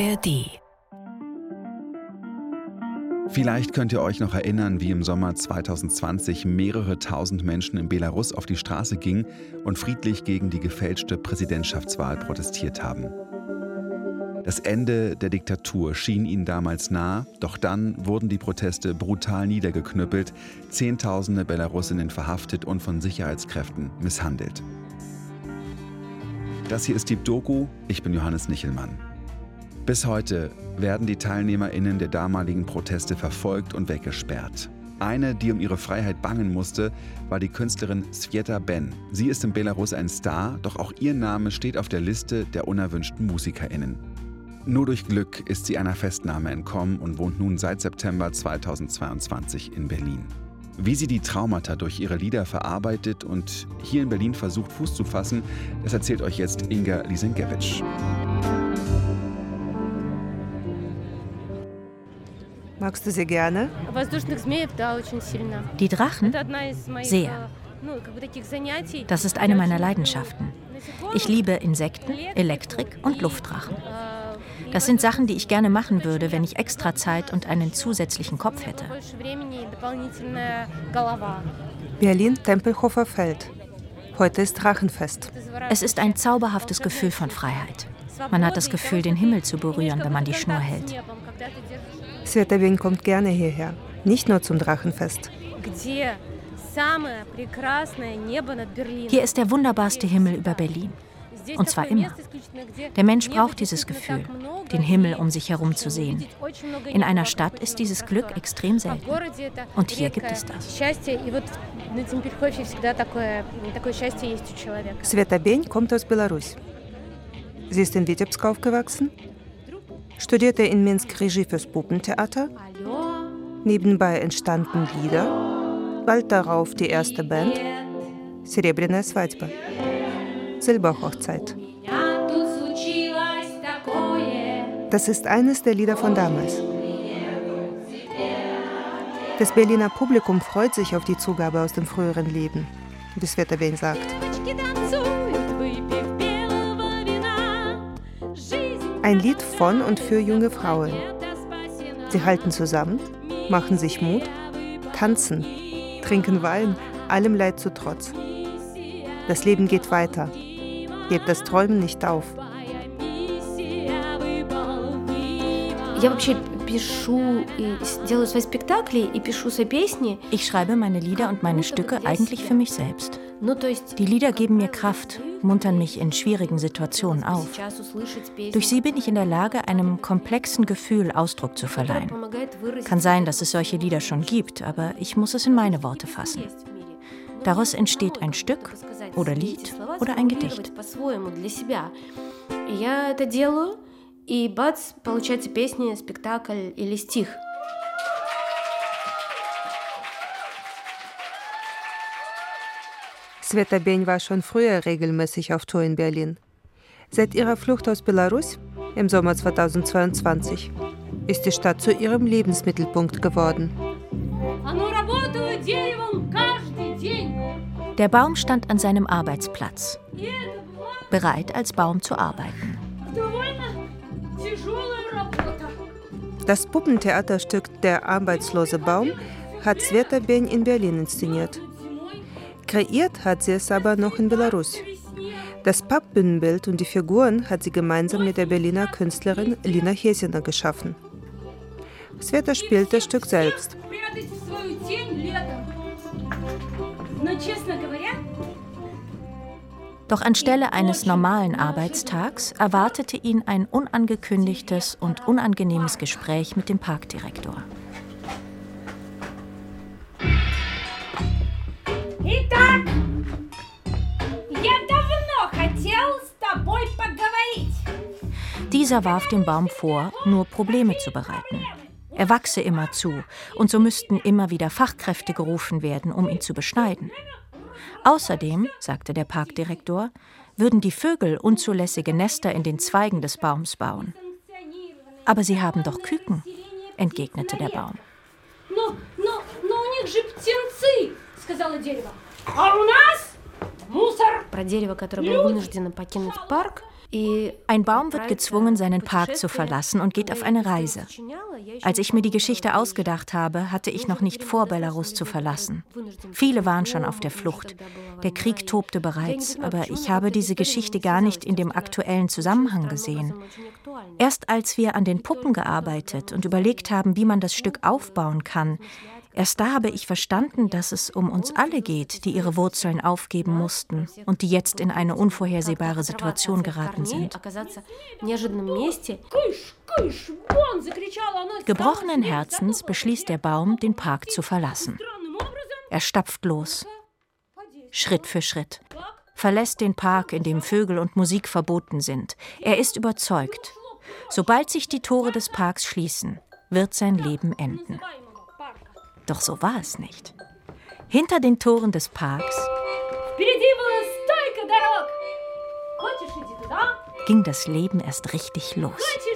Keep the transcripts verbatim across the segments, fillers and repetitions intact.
R D. Vielleicht könnt ihr euch noch erinnern, wie im Sommer zweitausendzwanzig mehrere tausend Menschen in Belarus auf die Straße gingen und friedlich gegen die gefälschte Präsidentschaftswahl protestiert haben. Das Ende der Diktatur schien ihnen damals nah, doch dann wurden die Proteste brutal niedergeknüppelt, Zehntausende Belarusinnen verhaftet und von Sicherheitskräften misshandelt. Das hier ist Deep Doku, ich bin Johannes Nichelmann. Bis heute werden die TeilnehmerInnen der damaligen Proteste verfolgt und weggesperrt. Eine, die um ihre Freiheit bangen musste, war die Künstlerin Sveta Ben. Sie ist in Belarus ein Star, doch auch ihr Name steht auf der Liste der unerwünschten MusikerInnen. Nur durch Glück ist sie einer Festnahme entkommen und wohnt nun seit September zweitausendzweiundzwanzig in Berlin. Wie sie die Traumata durch ihre Lieder verarbeitet und hier in Berlin versucht, Fuß zu fassen, das erzählt euch jetzt Inga Lisenkiewicz. Magst du sie gerne? Die Drachen? Sehr. Das ist eine meiner Leidenschaften. Ich liebe Insekten, Elektrik und Luftdrachen. Das sind Sachen, die ich gerne machen würde, wenn ich extra Zeit und einen zusätzlichen Kopf hätte. Berlin, Tempelhofer Feld. Heute ist Drachenfest. Es ist ein zauberhaftes Gefühl von Freiheit. Man hat das Gefühl, den Himmel zu berühren, wenn man die Schnur hält. Sveta Ben kommt gerne hierher, nicht nur zum Drachenfest. Hier ist der wunderbarste Himmel über Berlin. Und zwar immer. Der Mensch braucht dieses Gefühl, den Himmel um sich herum zu sehen. In einer Stadt ist dieses Glück extrem selten. Und hier gibt es das. Sveta Ben kommt aus Belarus. Sie ist in Witebsk aufgewachsen, studierte in Minsk Regie fürs Puppentheater. Nebenbei entstanden Lieder, bald darauf die erste Band, Serebrennaya Svadьба, Silberhochzeit. Das ist eines der Lieder von damals. Das Berliner Publikum freut sich auf die Zugabe aus dem früheren Leben, wie Sveta Ben sagt. Ein Lied von und für junge Frauen. Sie halten zusammen, machen sich Mut, tanzen, trinken Wein, allem Leid zu Trotz. Das Leben geht weiter. Gebt das Träumen nicht auf. Ich schreibe meine Lieder und meine Stücke eigentlich für mich selbst. Die Lieder geben mir Kraft, muntern mich in schwierigen Situationen auf. Durch sie bin ich in der Lage, einem komplexen Gefühl Ausdruck zu verleihen. Kann sein, dass es solche Lieder schon gibt, aber ich muss es in meine Worte fassen. Daraus entsteht ein Stück oder Lied oder ein Gedicht. Sveta Ben war schon früher regelmäßig auf Tour in Berlin. Seit ihrer Flucht aus Belarus im Sommer zweitausendzweiundzwanzig ist die Stadt zu ihrem Lebensmittelpunkt geworden. Der Baum stand an seinem Arbeitsplatz, bereit als Baum zu arbeiten. Das Puppentheaterstück Der arbeitslose Baum hat Sveta Ben in Berlin inszeniert. Kreiert hat sie es aber noch in Belarus. Das Pappbühnenbild und die Figuren hat sie gemeinsam mit der Berliner Künstlerin Lina Hesina geschaffen. Sveta spielt das Stück selbst. Doch anstelle eines normalen Arbeitstags erwartete ihn ein unangekündigtes und unangenehmes Gespräch mit dem Parkdirektor. Итак, я давно хотел с тобой поговорить. Dieser warf dem Baum vor, nur Probleme zu bereiten. Er wachse immer zu, und so müssten immer wieder Fachkräfte gerufen werden, um ihn zu beschneiden. Außerdem, sagte der Parkdirektor, würden die Vögel unzulässige Nester in den Zweigen des Baums bauen. Aber sie haben doch Küken, entgegnete der Baum. Но, но, но у них же птенцы, сказала дерево. А у нас Ein Baum wird gezwungen, seinen Park zu verlassen und geht auf eine Reise. Als ich mir die Geschichte ausgedacht habe, hatte ich noch nicht vor, Belarus zu verlassen. Viele waren schon auf der Flucht. Der Krieg tobte bereits, aber ich habe diese Geschichte gar nicht in dem aktuellen Zusammenhang gesehen. Erst als wir an den Puppen gearbeitet und überlegt haben, wie man das Stück aufbauen kann, erst da habe ich verstanden, dass es um uns alle geht, die ihre Wurzeln aufgeben mussten und die jetzt in eine unvorhersehbare Situation geraten sind. Gebrochenen Herzens beschließt der Baum, den Park zu verlassen. Er stapft los, Schritt für Schritt, verlässt den Park, in dem Vögel und Musik verboten sind. Er ist überzeugt, sobald sich die Tore des Parks schließen, wird sein Leben enden. Doch so war es nicht. Hinter den Toren des Parks ging das Leben erst richtig los.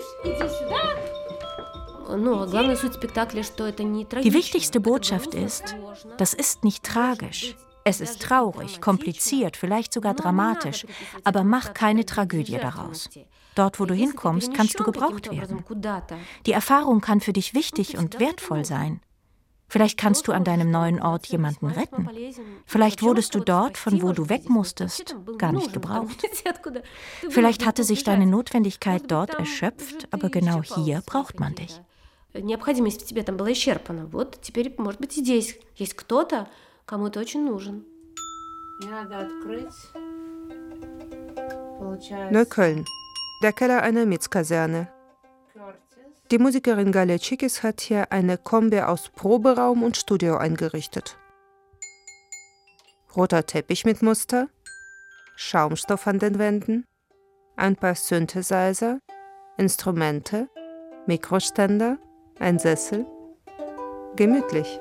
Die wichtigste Botschaft ist, das ist nicht tragisch. Es ist traurig, kompliziert, vielleicht sogar dramatisch, aber mach keine Tragödie daraus. Dort, wo du hinkommst, kannst du gebraucht werden. Die Erfahrung kann für dich wichtig und wertvoll sein. Vielleicht kannst du an deinem neuen Ort jemanden retten. Vielleicht wurdest du dort, von wo du weg musstest, gar nicht gebraucht. Vielleicht hatte sich deine Notwendigkeit dort erschöpft, aber genau hier braucht man dich. Neukölln, der Keller einer Mietskaserne. Die Musikerin Galia Chikis hat hier eine Kombi aus Proberaum und Studio eingerichtet. Roter Teppich mit Muster, Schaumstoff an den Wänden, ein paar Synthesizer, Instrumente, Mikroständer, ein Sessel. Gemütlich.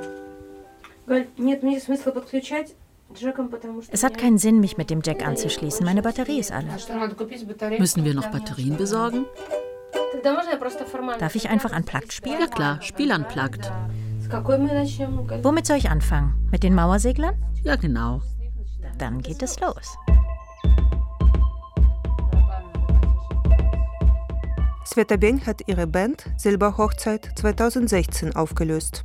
Es hat keinen Sinn, mich mit dem Jack anzuschließen. Meine Batterie ist alle. Müssen wir noch Batterien besorgen? Darf ich einfach unplugged spielen? Ja klar, Spiel unplugged. Womit soll ich anfangen? Mit den Mauerseglern? Ja, genau. Dann geht es los. Sveta Beny hat ihre Band Silberhochzeit zweitausendsechzehn aufgelöst.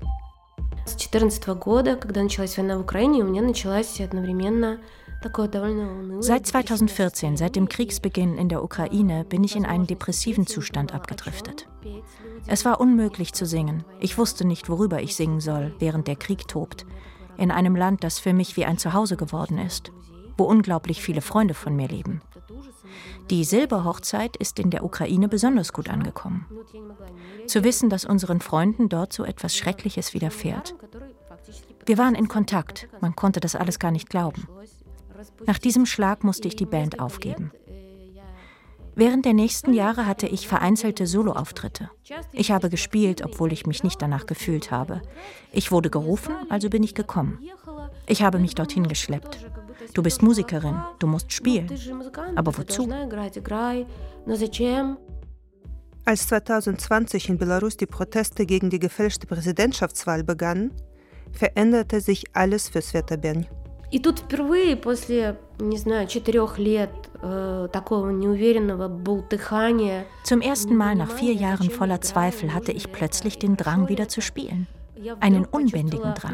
Seit zweitausendvierzehn, seit dem Kriegsbeginn in der Ukraine, bin ich in einen depressiven Zustand abgedriftet. Es war unmöglich zu singen. Ich wusste nicht, worüber ich singen soll, während der Krieg tobt. In einem Land, das für mich wie ein Zuhause geworden ist, wo unglaublich viele Freunde von mir leben. Die Silberhochzeit ist in der Ukraine besonders gut angekommen. Zu wissen, dass unseren Freunden dort so etwas Schreckliches widerfährt. Wir waren in Kontakt, man konnte das alles gar nicht glauben. Nach diesem Schlag musste ich die Band aufgeben. Während der nächsten Jahre hatte ich vereinzelte Soloauftritte. Ich habe gespielt, obwohl ich mich nicht danach gefühlt habe. Ich wurde gerufen, also bin ich gekommen. Ich habe mich dorthin geschleppt. Du bist Musikerin, du musst spielen. Aber wozu? Als zweitausendzwanzig in Belarus die Proteste gegen die gefälschte Präsidentschaftswahl begannen, veränderte sich alles für Sveta Beny. И тут впервые после, не знаю, четырех лет äh, такого неуверенного бултыхания. Zum ersten Mal nach vier Jahren voller Zweifel hatte ich plötzlich den Drang, wieder zu spielen. Einen unbändigen Drang.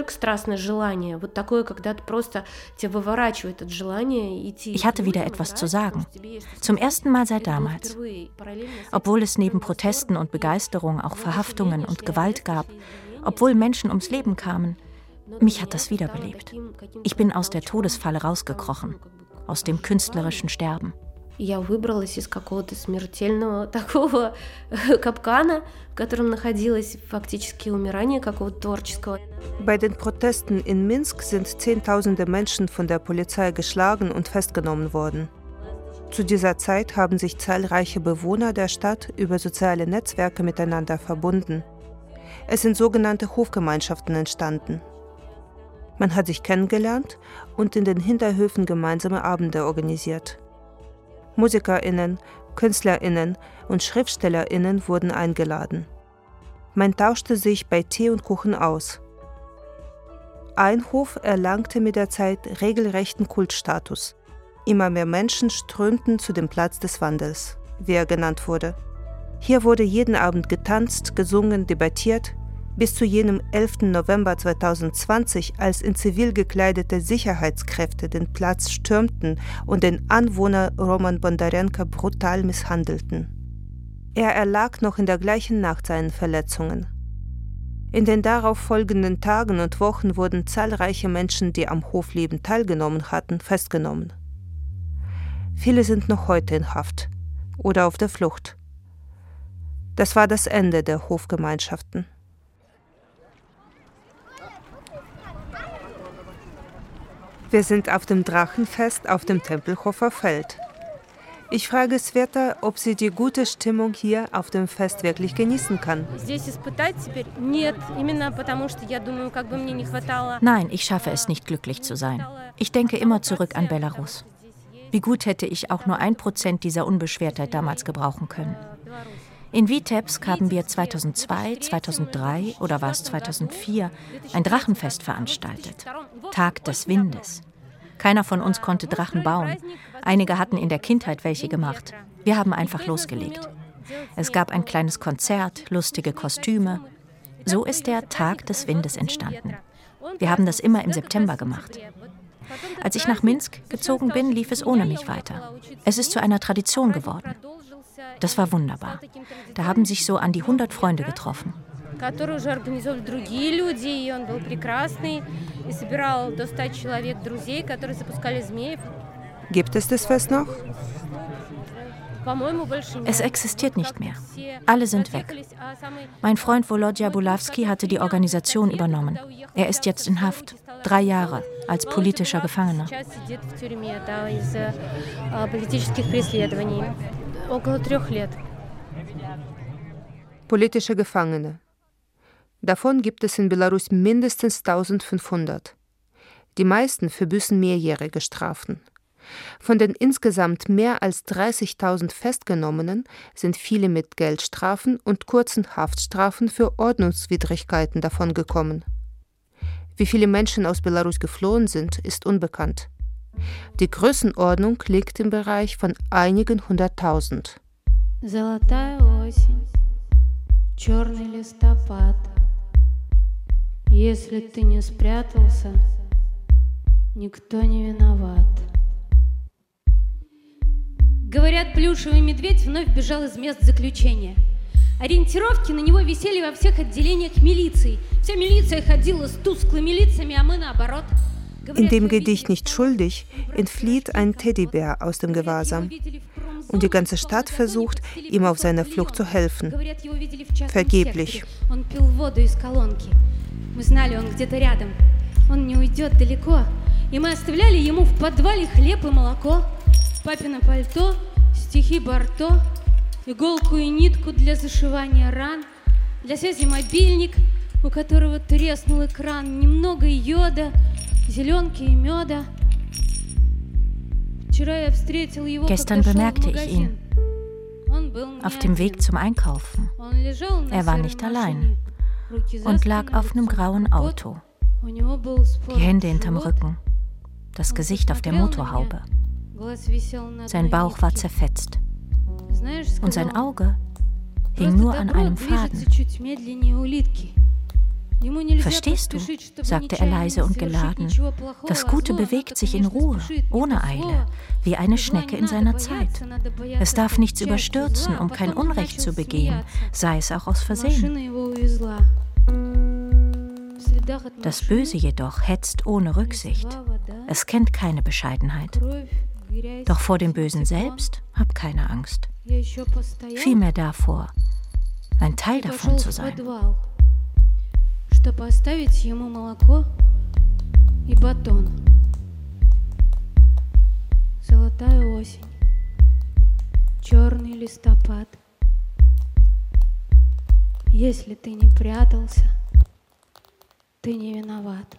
Ich hatte wieder etwas zu sagen. Zum ersten Mal seit damals. Obwohl es neben Protesten und Begeisterung auch Verhaftungen und Gewalt gab, obwohl Menschen ums Leben kamen, mich hat das wiederbelebt. Ich bin aus der Todesfalle rausgekrochen, aus dem künstlerischen Sterben. Я выбралась из какого-то смертельного такого капкана, в котором находилась фактически умирание какого-то творческого. Bei den Protesten in Minsk sind Zehntausende Menschen von der Polizei geschlagen und festgenommen worden. Zu dieser Zeit haben sich zahlreiche Bewohner der Stadt über soziale Netzwerke miteinander verbunden. Es sind sogenannte Hofgemeinschaften entstanden. Man hat sich kennengelernt und in den Hinterhöfen gemeinsame Abende organisiert. MusikerInnen, KünstlerInnen und SchriftstellerInnen wurden eingeladen. Man tauschte sich bei Tee und Kuchen aus. Ein Hof erlangte mit der Zeit regelrechten Kultstatus. Immer mehr Menschen strömten zu dem Platz des Wandels, wie er genannt wurde. Hier wurde jeden Abend getanzt, gesungen, debattiert, bis zu jenem elften November zweitausendzwanzig, als in zivil gekleidete Sicherheitskräfte den Platz stürmten und den Anwohner Roman Bondarenko brutal misshandelten. Er erlag noch in der gleichen Nacht seinen Verletzungen. In den darauf folgenden Tagen und Wochen wurden zahlreiche Menschen, die am Hofleben teilgenommen hatten, festgenommen. Viele sind noch heute in Haft oder auf der Flucht. Das war das Ende der Hofgemeinschaften. Wir sind auf dem Drachenfest auf dem Tempelhofer Feld. Ich frage Sveta, ob sie die gute Stimmung hier auf dem Fest wirklich genießen kann. Nein, ich schaffe es nicht, glücklich zu sein. Ich denke immer zurück an Belarus. Wie gut hätte ich auch nur ein Prozent dieser Unbeschwertheit damals gebrauchen können. In Vitebsk haben wir zweitausendzwei, zweitausenddrei oder war es zweitausendvier ein Drachenfest veranstaltet. Tag des Windes. Keiner von uns konnte Drachen bauen. Einige hatten in der Kindheit welche gemacht. Wir haben einfach losgelegt. Es gab ein kleines Konzert, lustige Kostüme. So ist der Tag des Windes entstanden. Wir haben das immer im September gemacht. Als ich nach Minsk gezogen bin, lief es ohne mich weiter. Es ist zu einer Tradition geworden. Das war wunderbar. Da haben sich so an die hundert Freunde getroffen. Gibt es das Fest noch? Es existiert nicht mehr. Alle sind weg. Mein Freund Volodya Bulavsky hatte die Organisation übernommen. Er ist jetzt in Haft. Drei Jahre als politischer Gefangener. Politische Gefangene. Davon gibt es in Belarus mindestens eintausendfünfhundert. Die meisten verbüßen mehrjährige Strafen. Von den insgesamt mehr als dreißigtausend Festgenommenen sind viele mit Geldstrafen und kurzen Haftstrafen für Ordnungswidrigkeiten davongekommen. Wie viele Menschen aus Belarus geflohen sind, ist unbekannt. Die Größenordnung liegt im Bereich von einigen hunderttausend. Золотая осень, черный листопад. Если ты не спрятался, никто не виноват. Говорят, плюшевый медведь вновь бежал из мест заключения. Ориентировки на него висели во всех отделениях милиции. Вся милиция ходила с тусклыми лицами, а мы наоборот. In dem Gedicht Nicht schuldig entflieht ein Teddybär aus dem Gewahrsam. Und die ganze Stadt versucht, ihm auf seiner Flucht zu helfen. Vergeblich. Мы знали, он где-то рядом. Он не уйдет далеко. И мы оставляли ему в подвале хлеб и молоко, папино пальто, стихи Барто, иголку и нитку для зашивания ран, для связи мобильник, у которого треснул экран, немного йода, зеленки и меда. Вчера я встретил его, Gestern bemerkte ich ihn auf dem Weg zum Einkaufen. Er war nicht allein und lag auf einem grauen Auto, die Hände hinterm Rücken, das Gesicht auf der Motorhaube. Sein Bauch war zerfetzt und sein Auge hing nur an einem Faden. Verstehst du, sagte er leise und geladen, das Gute bewegt sich in Ruhe, ohne Eile, wie eine Schnecke in seiner Zeit. Es darf nichts überstürzen, um kein Unrecht zu begehen, sei es auch aus Versehen. Das Böse jedoch hetzt ohne Rücksicht. Es kennt keine Bescheidenheit. Doch vor dem Bösen selbst hab keine Angst. Vielmehr davor, ein Teil davon zu sein. Чтобы оставить ему молоко и батон. Золотая осень, черный листопад. Если ты не прятался, ты не виноват.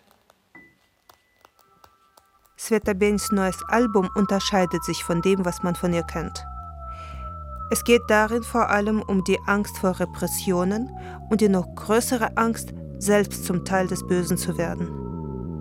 Sveta Bens neues Album unterscheidet sich von dem, was man von ihr kennt. Es geht darin vor allem um die Angst vor Repressionen und die noch größere Angst, selbst zum Teil des Bösen zu werden.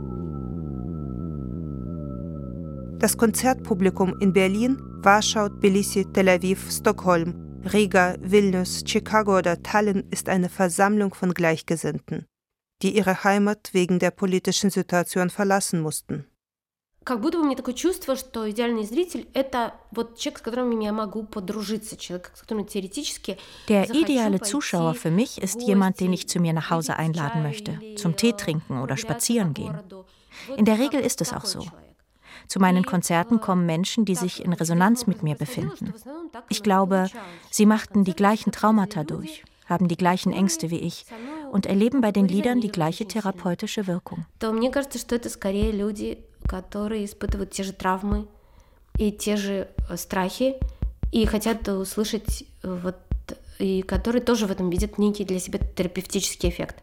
Das Konzertpublikum in Berlin, Warschau, Tbilisi, Tel Aviv, Stockholm, Riga, Vilnius, Chicago oder Tallinn ist eine Versammlung von Gleichgesinnten, die ihre Heimat wegen der politischen Situation verlassen mussten. Как будто у меня такое чувство, что идеальный зритель – это вот человек, с которым я могу подружиться, человек, с которым теоретически. Der ideale Zuschauer für mich ist jemand, den ich zu mir nach Hause einladen möchte, zum Tee trinken oder spazieren gehen. In der Regel ist es auch so. Zu meinen Konzerten kommen Menschen, die sich in Resonanz mit mir befinden. Ich glaube, sie machten die gleichen Traumata durch, haben die gleichen Ängste wie ich und erleben bei den Liedern die gleiche therapeutische Wirkung. Мне кажется, что это скорее люди, которые испытывают те же травмы и те же страхи, и хотят услышать, вот, и которые тоже в этом видят некий для себя терапевтический эффект.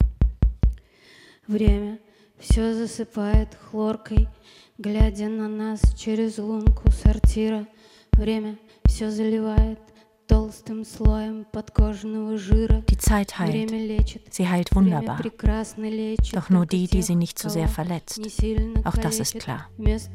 Время все засыпает хлоркой, глядя на нас через лунку сортира. Время все заливает толстым слоем подкожного жира. Die Zeit heilt. Sie heilt wunderbar. Doch nur die, die sie nicht so sehr verletzt. Auch das ist klar.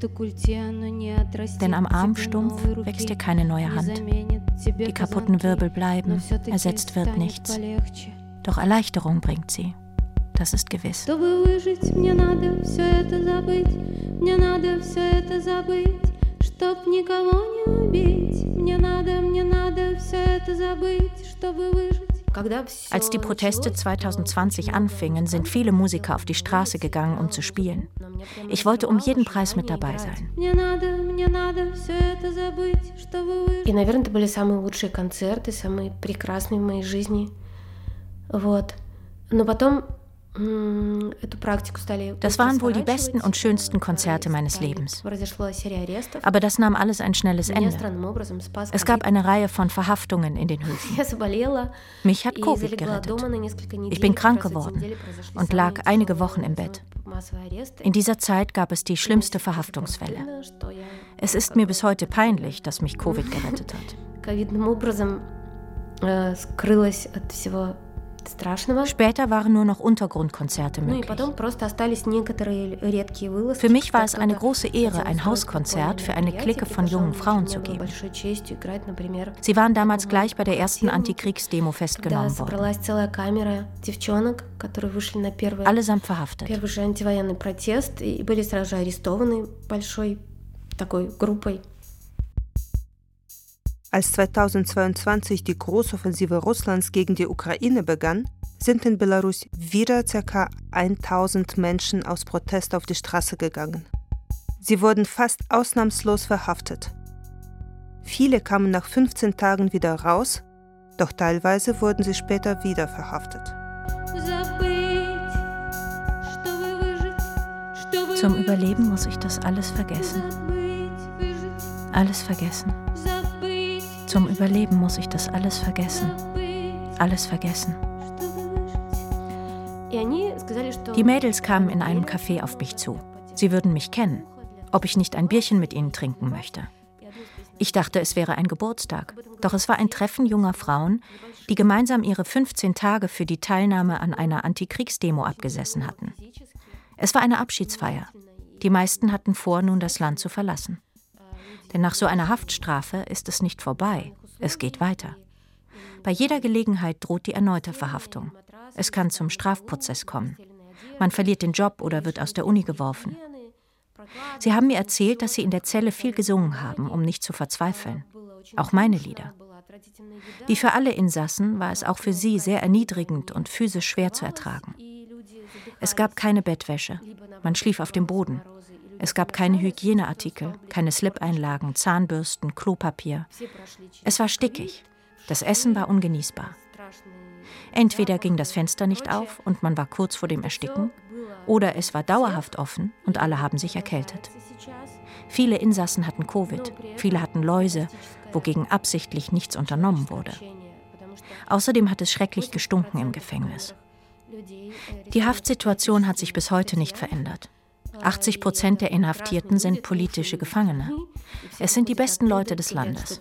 Denn am Armstumpf wächst ihr keine neue Hand. Die kaputten Wirbel bleiben, ersetzt wird nichts. Doch Erleichterung bringt sie. Das ist gewiss. Чтобы выжить, мне надо все это забыть. Мне надо все это забыть. Чтоб никого не убить, мне надо, мне надо все это забыть, чтобы выжить. Als die Proteste zwanzig zwanzig anfingen, sind viele Musiker auf die Straße gegangen, um zu spielen. Ich wollte um jeden Preis mit dabei sein. И, наверное, это были самые лучшие концерты, самые прекрасные в моей жизни. Вот. Но потом Das waren wohl die besten und schönsten Konzerte meines Lebens. Aber das nahm alles ein schnelles Ende. Es gab eine Reihe von Verhaftungen in den Höfen. Mich hat Covid gerettet. Ich bin krank geworden und lag einige Wochen im Bett. In dieser Zeit gab es die schlimmste Verhaftungswelle. Es ist mir bis heute peinlich, dass mich Covid gerettet hat. Später waren nur noch Untergrundkonzerte möglich. Für mich war es eine große Ehre, ein Hauskonzert für eine Clique von jungen Frauen zu geben. Sie waren damals gleich bei der ersten Antikriegsdemo festgenommen worden. Allesamt verhaftet. Als zweitausendzweiundzwanzig die Großoffensive Russlands gegen die Ukraine begann, sind in Belarus wieder ca. tausend Menschen aus Protest auf die Straße gegangen. Sie wurden fast ausnahmslos verhaftet. Viele kamen nach fünfzehn Tagen wieder raus, doch teilweise wurden sie später wieder verhaftet. Zum Überleben muss ich das alles vergessen. Alles vergessen. Zum Überleben muss ich das alles vergessen. Alles vergessen. Die Mädels kamen in einem Café auf mich zu. Sie würden mich kennen, ob ich nicht ein Bierchen mit ihnen trinken möchte. Ich dachte, es wäre ein Geburtstag. Doch es war ein Treffen junger Frauen, die gemeinsam ihre fünfzehn Tage für die Teilnahme an einer Antikriegsdemo abgesessen hatten. Es war eine Abschiedsfeier. Die meisten hatten vor, nun das Land zu verlassen. Denn nach so einer Haftstrafe ist es nicht vorbei, es geht weiter. Bei jeder Gelegenheit droht die erneute Verhaftung. Es kann zum Strafprozess kommen. Man verliert den Job oder wird aus der Uni geworfen. Sie haben mir erzählt, dass sie in der Zelle viel gesungen haben, um nicht zu verzweifeln. Auch meine Lieder. Wie für alle Insassen war es auch für sie sehr erniedrigend und physisch schwer zu ertragen. Es gab keine Bettwäsche, man schlief auf dem Boden. Es gab keine Hygieneartikel, keine Slip-Einlagen, Zahnbürsten, Klopapier. Es war stickig. Das Essen war ungenießbar. Entweder ging das Fenster nicht auf und man war kurz vor dem Ersticken, oder es war dauerhaft offen und alle haben sich erkältet. Viele Insassen hatten Covid, viele hatten Läuse, wogegen absichtlich nichts unternommen wurde. Außerdem hat es schrecklich gestunken im Gefängnis. Die Haftsituation hat sich bis heute nicht verändert. achtzig Prozent der Inhaftierten sind politische Gefangene. Es sind die besten Leute des Landes.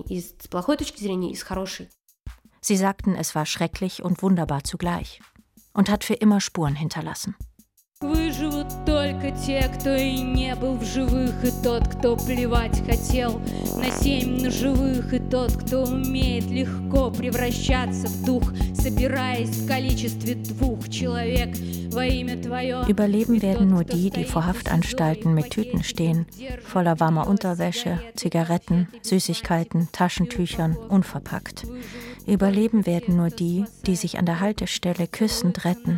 Sie sagten, es war schrecklich und wunderbar zugleich. und hat für immer Spuren hinterlassen. Выживут только те, кто и не был в живых, и тот, кто плевать хотел на семь ножевых, и тот, кто умеет легко превращаться в дух, собираясь в количестве двуch человек во имя твое. Überleben werden nur die, die vor Haftanstalten mit Tüten stehen, voller warmer Unterwäsche, Zigaretten, Süßigkeiten, Taschentüchern, unverpackt. Überleben werden nur die, die sich an der Haltestelle küssend retten.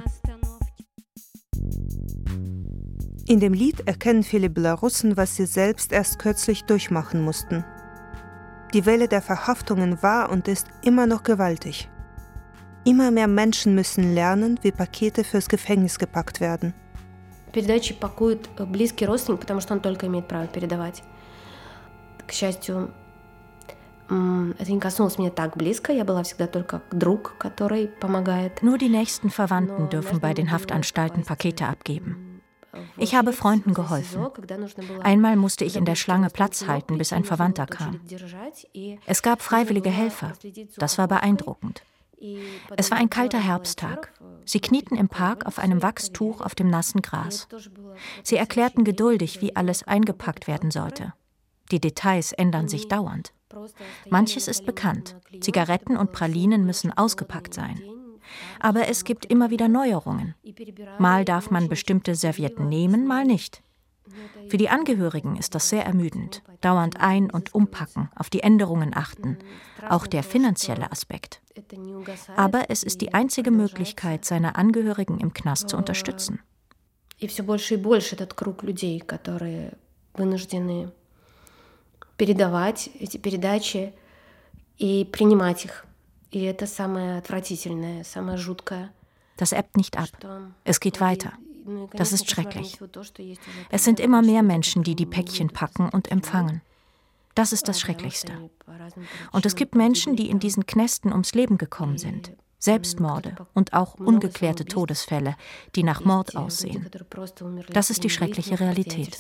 In dem Lied erkennen viele Belarussen, was sie selbst erst kürzlich durchmachen mussten. Die Welle der Verhaftungen war und ist immer noch gewaltig. Immer mehr Menschen müssen lernen, wie Pakete fürs Gefängnis gepackt werden. Передачи пакует близкий родственник, потому что он только имеет право передавать. К счастью, это не коснулось меня так близко. Я была всегда только друг, который помогает. Nur die nächsten Verwandten dürfen bei den Haftanstalten Pakete abgeben. Ich habe Freunden geholfen. Einmal musste ich in der Schlange Platz halten, bis ein Verwandter kam. Es gab freiwillige Helfer. Das war beeindruckend. Es war ein kalter Herbsttag. Sie knieten im Park auf einem Wachstuch auf dem nassen Gras. Sie erklärten geduldig, wie alles eingepackt werden sollte. Die Details ändern sich dauernd. Manches ist bekannt. Zigaretten und Pralinen müssen ausgepackt sein. Aber es gibt immer wieder Neuerungen. Mal darf man bestimmte Servietten nehmen, mal nicht. Für die Angehörigen ist das sehr ermüdend. Dauernd ein- und umpacken, auf die Änderungen achten. Auch der finanzielle Aspekt. Aber es ist die einzige Möglichkeit, seine Angehörigen im Knast zu unterstützen. И все больше и больше этот круг людей, которые вынуждены передавать эти передачи и принимать их. И это самое отвратительное, самое жуткое. Das ebbt nicht ab. Es geht weiter. Das ist schrecklich. Es sind immer mehr Menschen, die die Päckchen packen und empfangen. Das ist das Schrecklichste. Und es gibt Menschen, die in diesen Knästen ums Leben gekommen sind. Selbstmorde und auch ungeklärte Todesfälle, die nach Mord aussehen. Das ist die schreckliche Realität.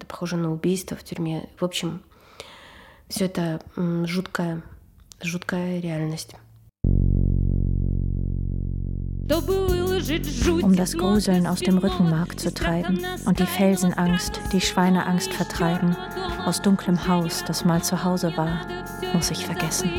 Все это жуткая, жуткая реальность. Um das Gruseln aus dem Rückenmark zu treiben und die Felsenangst, die Schweineangst vertreiben, aus dunklem Haus, das mal zu Hause war, muss ich vergessen.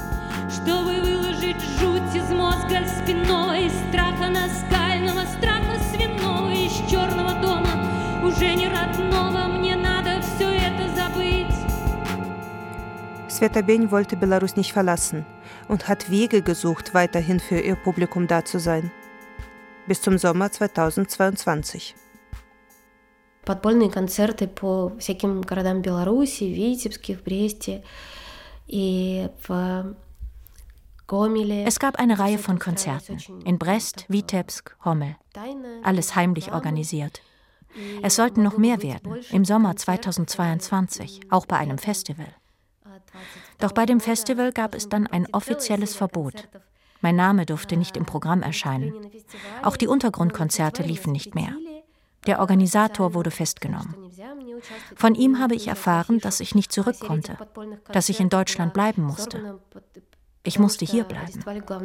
Sveta Beny wollte Belarus nicht verlassen und hat Wege gesucht, weiterhin für ihr Publikum da zu sein. Bis zum Sommer zweitausendzweiundzwanzig. Подпольные концерты по всяким городам Беларуси, в Витебске, в Бресте и в Гомеле. Es gab eine Reihe von Konzerten in Brest, Vitebsk, Homel. Alles heimlich organisiert. Es sollten noch mehr werden, im Sommer zweitausendzweiundzwanzig, auch bei einem Festival. Doch bei dem Festival gab es dann ein offizielles Verbot. Mein Name durfte nicht im Programm erscheinen. Auch die Untergrundkonzerte liefen nicht mehr. Der Organisator wurde festgenommen. Von ihm habe ich erfahren, dass ich nicht zurück konnte, dass ich in Deutschland bleiben musste. Ich musste hier bleiben.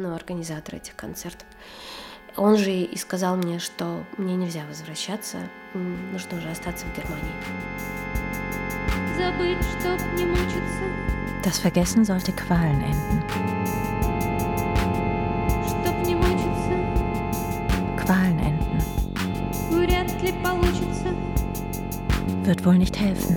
Он же и сказал мне, что мне нельзя возвращаться, нужно уже остаться в Германии. Забыть, чтоб не мучиться. Das Vergessen sollte Qualen enden. Чтоб не мучиться. Qualen enden. Вряд ли получится. Wird wohl nicht helfen.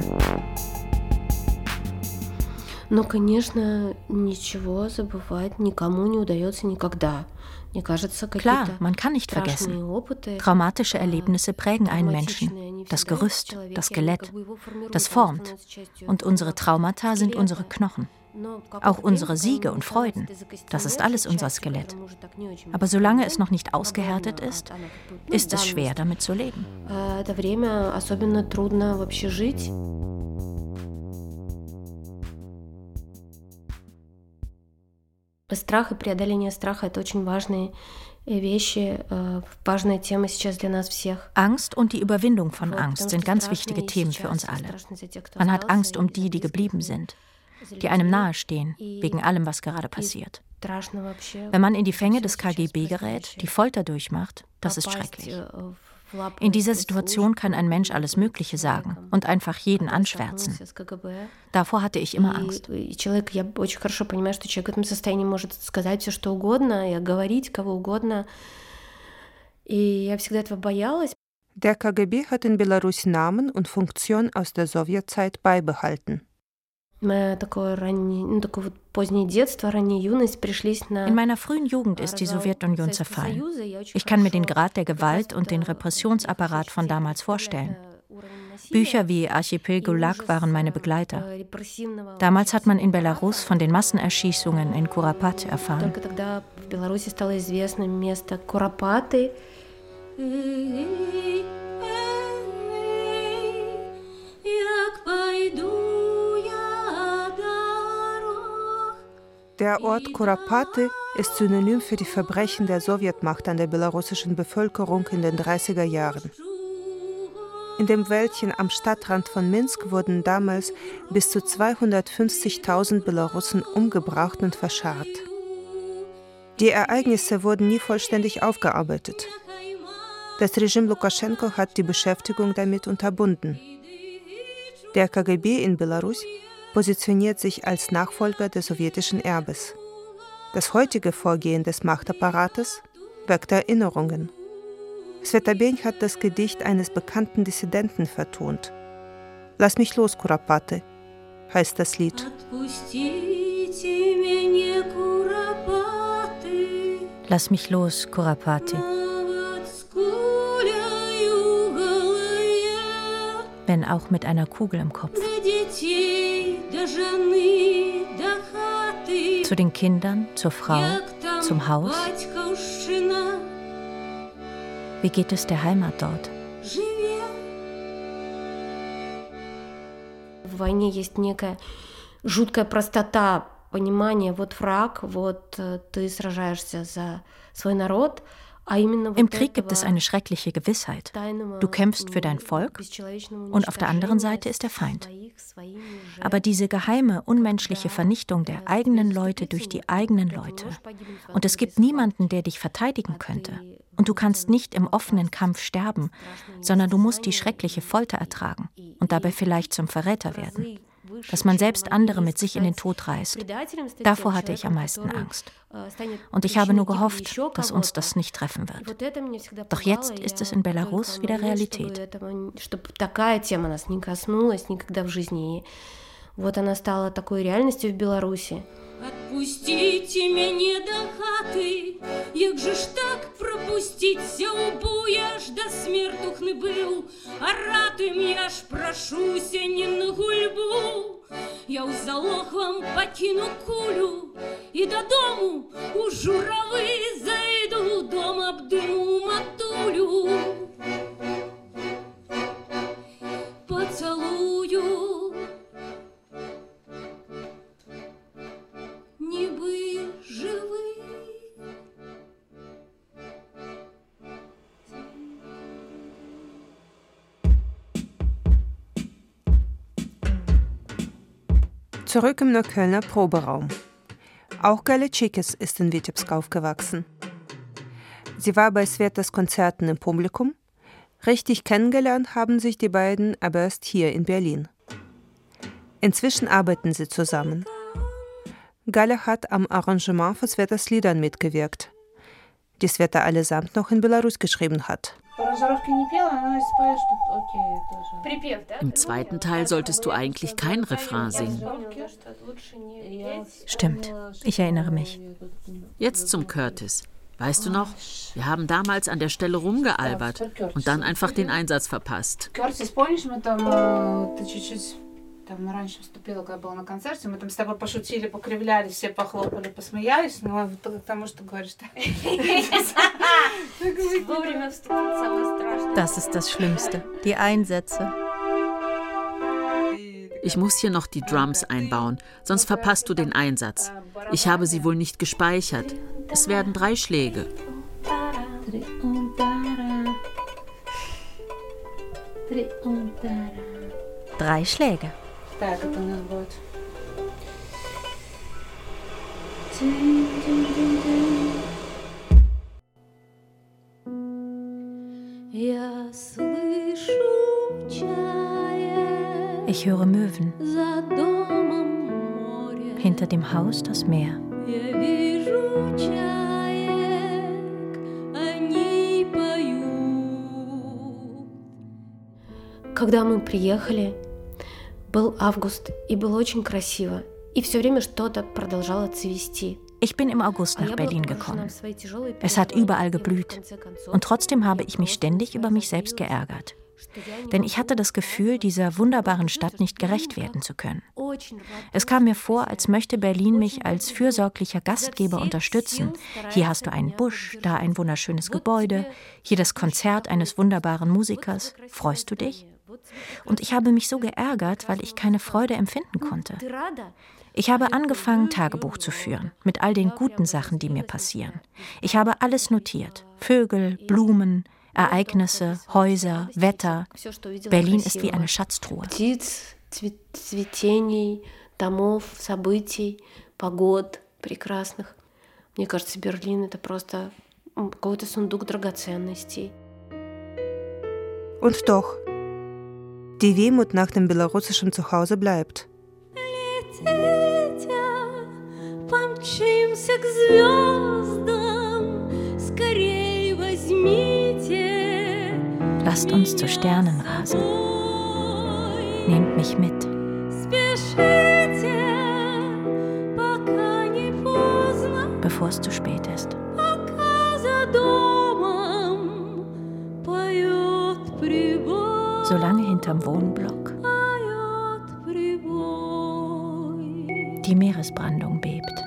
Но, конечно, ничего забывать никому не удается никогда. Klar, man kann nicht vergessen. Traumatische Erlebnisse prägen einen Menschen. Das Gerüst, das Skelett, das formt. Und unsere Traumata sind unsere Knochen. Auch unsere Siege und Freuden, das ist alles unser Skelett. Aber solange es noch nicht ausgehärtet ist, ist es schwer, damit zu leben. Страх и преодоление страха – это очень важные вещи, важная тема сейчас для нас всех. Angst und die Überwindung von Angst sind ganz wichtige Themen für uns alle. Man hat Angst um die, die geblieben sind. die einem nahestehen, wegen allem, was gerade passiert. Wenn man in die Fänge des K G B gerät, die Folter durchmacht, das ist schrecklich. In dieser Situation kann ein Mensch alles Mögliche sagen und einfach jeden anschwärzen. Davor hatte ich immer Angst. Der K G B hat in Belarus Namen und Funktion aus der Sowjetzeit beibehalten. In meiner frühen Jugend ist die Sowjetunion zerfallen. Ich kann mir den Grad der Gewalt und den Repressionsapparat von damals vorstellen. Bücher wie Archipel Gulag waren meine Begleiter. Damals hat man in Belarus von den Massenerschießungen in Kuropaty erfahren. Der Ort Kuropaty ist Synonym für die Verbrechen der Sowjetmacht an der belarussischen Bevölkerung in den dreißiger Jahren. In dem Wäldchen am Stadtrand von Minsk wurden damals bis zu zweihundertfünfzigtausend Belarussen umgebracht und verscharrt. Die Ereignisse wurden nie vollständig aufgearbeitet. Das Regime Lukaschenko hat die Beschäftigung damit unterbunden. Der K G B in Belarus positioniert sich als Nachfolger des sowjetischen Erbes. Das heutige Vorgehen des Machtapparates weckt Erinnerungen. Svetabeny hat das Gedicht eines bekannten Dissidenten vertont. Lass mich los, Kuropaty, heißt das Lied. Lass mich los, Kuropaty. Wenn auch mit einer Kugel im Kopf. Zu den Kindern, zur Frau, zum Haus. Wie geht es der Heimat dort? В войне есть некая жуткая простота понимания, вот враг, вот ты сражаешься за свой народ. Im Krieg gibt es eine schreckliche Gewissheit. Du kämpfst für dein Volk und auf der anderen Seite ist der Feind. Aber diese geheime, unmenschliche Vernichtung der eigenen Leute durch die eigenen Leute. Und es gibt niemanden, der dich verteidigen könnte. Und du kannst nicht im offenen Kampf sterben, sondern du musst die schreckliche Folter ertragen und dabei vielleicht zum Verräter werden. Dass man selbst andere mit sich in den Tod reißt. Davor hatte ich am meisten Angst. Und ich habe nur gehofft, dass uns das nicht treffen wird. Doch jetzt ist es in Belarus wieder Realität. Отпустите меня до хаты, як же ж так пропуститься убу, я ж до смертухны был, а ратуем я ж прошуся не на гульбу. Я у залог вам покину кулю и до дому у журавы зайду, дом обдыму матулю. Поцелую. Zurück im Neuköllner Proberaum. Auch Gáля Chikis ist in Witebsk aufgewachsen. Sie war bei Svetas Konzerten im Publikum. Richtig kennengelernt haben sich die beiden aber erst hier in Berlin. Inzwischen arbeiten sie zusammen. Gáля hat am Arrangement von Svetas Liedern mitgewirkt, die Sveta allesamt noch in Belarus geschrieben hat. Im zweiten Teil solltest du eigentlich kein Refrain singen. Stimmt, ich erinnere mich. Jetzt zum Curtis. Weißt du noch, wir haben damals an der Stelle rumgealbert und dann einfach den Einsatz verpasst. Там раньше вступила, когда была на концерте, мы там с тобой пошутили, покривляли, все похлопали, посмеялись, но потому что говоришь так. Вовремя вступить самое страшное. Das ist das Schlimmste, die Einsätze. Ich muss hier noch die Drums einbauen, sonst verpasst du den Einsatz. Ich habe sie wohl nicht gespeichert. Es werden drei Schläge. Drei Schläge. Так, это у нас будет Ich höre Möwen. Hinter dem Haus das Meer. Когда мы приехали, был август, и было очень красиво, и все время что-то продолжало цвести. Ich bin im August nach Berlin gekommen. Es hat überall geblüht. Und trotzdem habe ich mich ständig über mich selbst geärgert. Denn ich hatte das Gefühl, dieser wunderbaren Stadt nicht gerecht werden zu können. Es kam mir vor, als möchte Berlin mich als fürsorglicher Gastgeber unterstützen. Hier hast du einen Busch, da ein wunderschönes Gebäude, hier das Konzert eines wunderbaren Musikers. Freust du dich? Und ich habe mich so geärgert, weil ich keine Freude empfinden konnte. Ich habe angefangen, Tagebuch zu führen, mit all den guten Sachen, die mir passieren. Ich habe alles notiert. Vögel, Blumen, Ereignisse, Häuser, Wetter. Berlin ist wie eine Schatztruhe. Птиц, цветений, домов, событий, погод прекрасных. Мне кажется, Берлин — это просто какой-то сундук драгоценностей. Und doch, die Wehmut nach dem belarussischen Zuhause bleibt. Помчимся к звездам, скорей возьмите. Lasst uns zu Sternen rasen. Nehmt mich mit. Спешите, пока не поздно. Bevor es zu spät ist. Пока за домом поет прибой. Solange hinterm Wohnblock die Meeresbrandung bebt.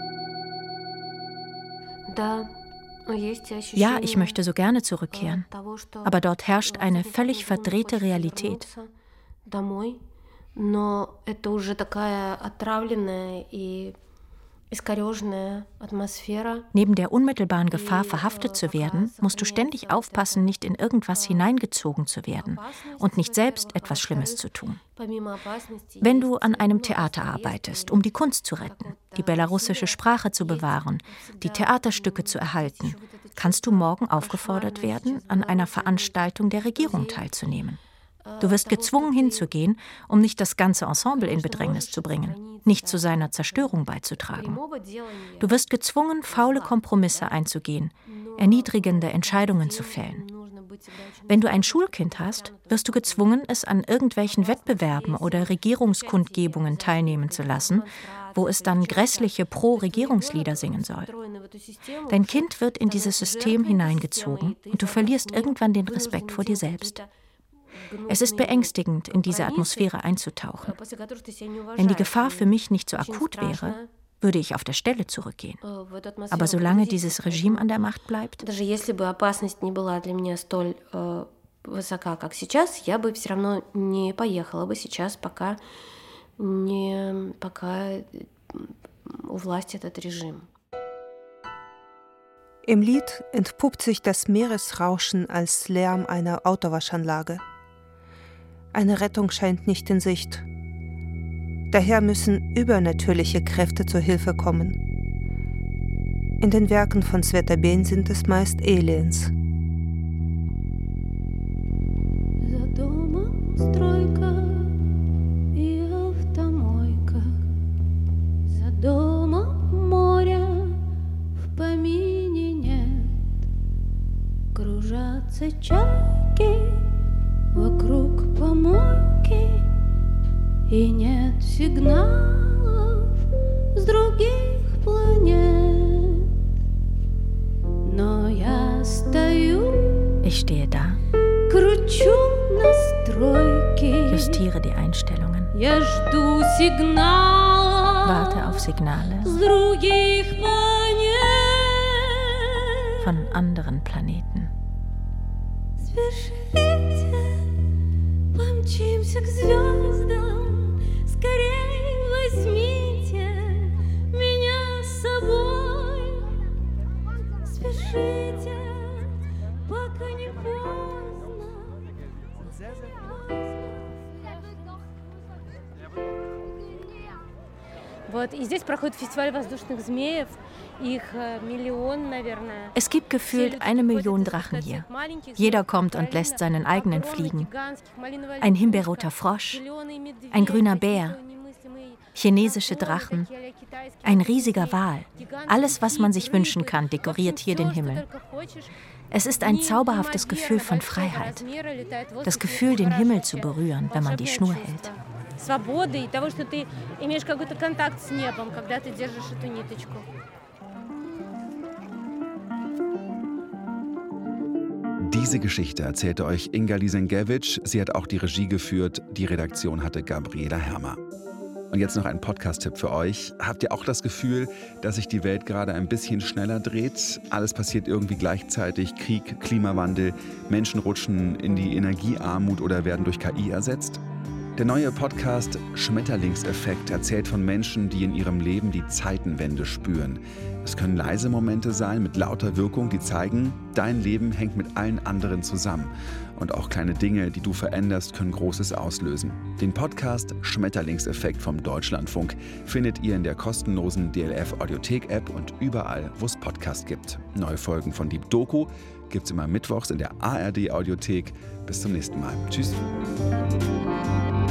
Ja, ich möchte so gerne zurückkehren, aber dort herrscht eine völlig verdrehte Realität. Neben der unmittelbaren Gefahr, verhaftet zu werden, musst du ständig aufpassen, nicht in irgendwas hineingezogen zu werden und nicht selbst etwas Schlimmes zu tun. Wenn du an einem Theater arbeitest, um die Kunst zu retten, die belarussische Sprache zu bewahren, die Theaterstücke zu erhalten, kannst du morgen aufgefordert werden, an einer Veranstaltung der Regierung teilzunehmen. Du wirst gezwungen hinzugehen, um nicht das ganze Ensemble in Bedrängnis zu bringen, nicht zu seiner Zerstörung beizutragen. Du wirst gezwungen, faule Kompromisse einzugehen, erniedrigende Entscheidungen zu fällen. Wenn du ein Schulkind hast, wirst du gezwungen, es an irgendwelchen Wettbewerben oder Regierungskundgebungen teilnehmen zu lassen, wo es dann grässliche Pro-Regierungslieder singen soll. Dein Kind wird in dieses System hineingezogen und du verlierst irgendwann den Respekt vor dir selbst. Es ist beängstigend, in diese Atmosphäre einzutauchen. Wenn die Gefahr für mich nicht so akut wäre, würde ich auf der Stelle zurückgehen. Aber solange dieses Regime an der Macht bleibt, даже если бы опасность не была для меня столь высока, как сейчас, я бы все равно не поехала бы сейчас, пока не пока у власти этот режим. Im Lied entpuppt sich das Meeresrauschen als Lärm einer Autowaschanlage. Eine Rettung scheint nicht in Sicht. Daher müssen übernatürliche Kräfte zur Hilfe kommen. In den Werken von Sveta Ben sind es meist Aliens. Вокруг помойки, и нет сигналов с других планет. Но я стою, ich stehe da, кручу настройки, justiere die Einstellungen, я жду сигналов, warte auf Signale с других планет. Von anderen Planeten. Спешите, помчимся к звездам, скорей возьмите меня с собой. Спешите, пока не поздно. Es gibt gefühlt eine Million Drachen hier. Jeder kommt und lässt seinen eigenen fliegen. Ein himbeerroter Frosch, ein grüner Bär, chinesische Drachen, ein riesiger Wal. Alles, was man sich wünschen kann, dekoriert hier den Himmel. Es ist ein zauberhaftes Gefühl von Freiheit. Das Gefühl, den Himmel zu berühren, wenn man die Schnur hält. Diese Geschichte erzählte euch Inga Lisenkiewicz. Sie hat auch die Regie geführt. Die Redaktion hatte Gabriela Hermer. Und jetzt noch ein Podcast-Tipp für euch. Habt ihr auch das Gefühl, dass sich die Welt gerade ein bisschen schneller dreht? Alles passiert irgendwie gleichzeitig. Krieg, Klimawandel, Menschen rutschen in die Energiearmut oder werden durch K I ersetzt? Der neue Podcast Schmetterlingseffekt erzählt von Menschen, die in ihrem Leben die Zeitenwende spüren. Es können leise Momente sein mit lauter Wirkung, die zeigen, dein Leben hängt mit allen anderen zusammen. Und auch kleine Dinge, die du veränderst, können Großes auslösen. Den Podcast Schmetterlingseffekt vom Deutschlandfunk findet ihr in der kostenlosen D L F Audiothek-App und überall, wo es Podcasts gibt. Neue Folgen von Deep Doku gibt es immer mittwochs in der A R D Audiothek. Bis zum nächsten Mal. Tschüss.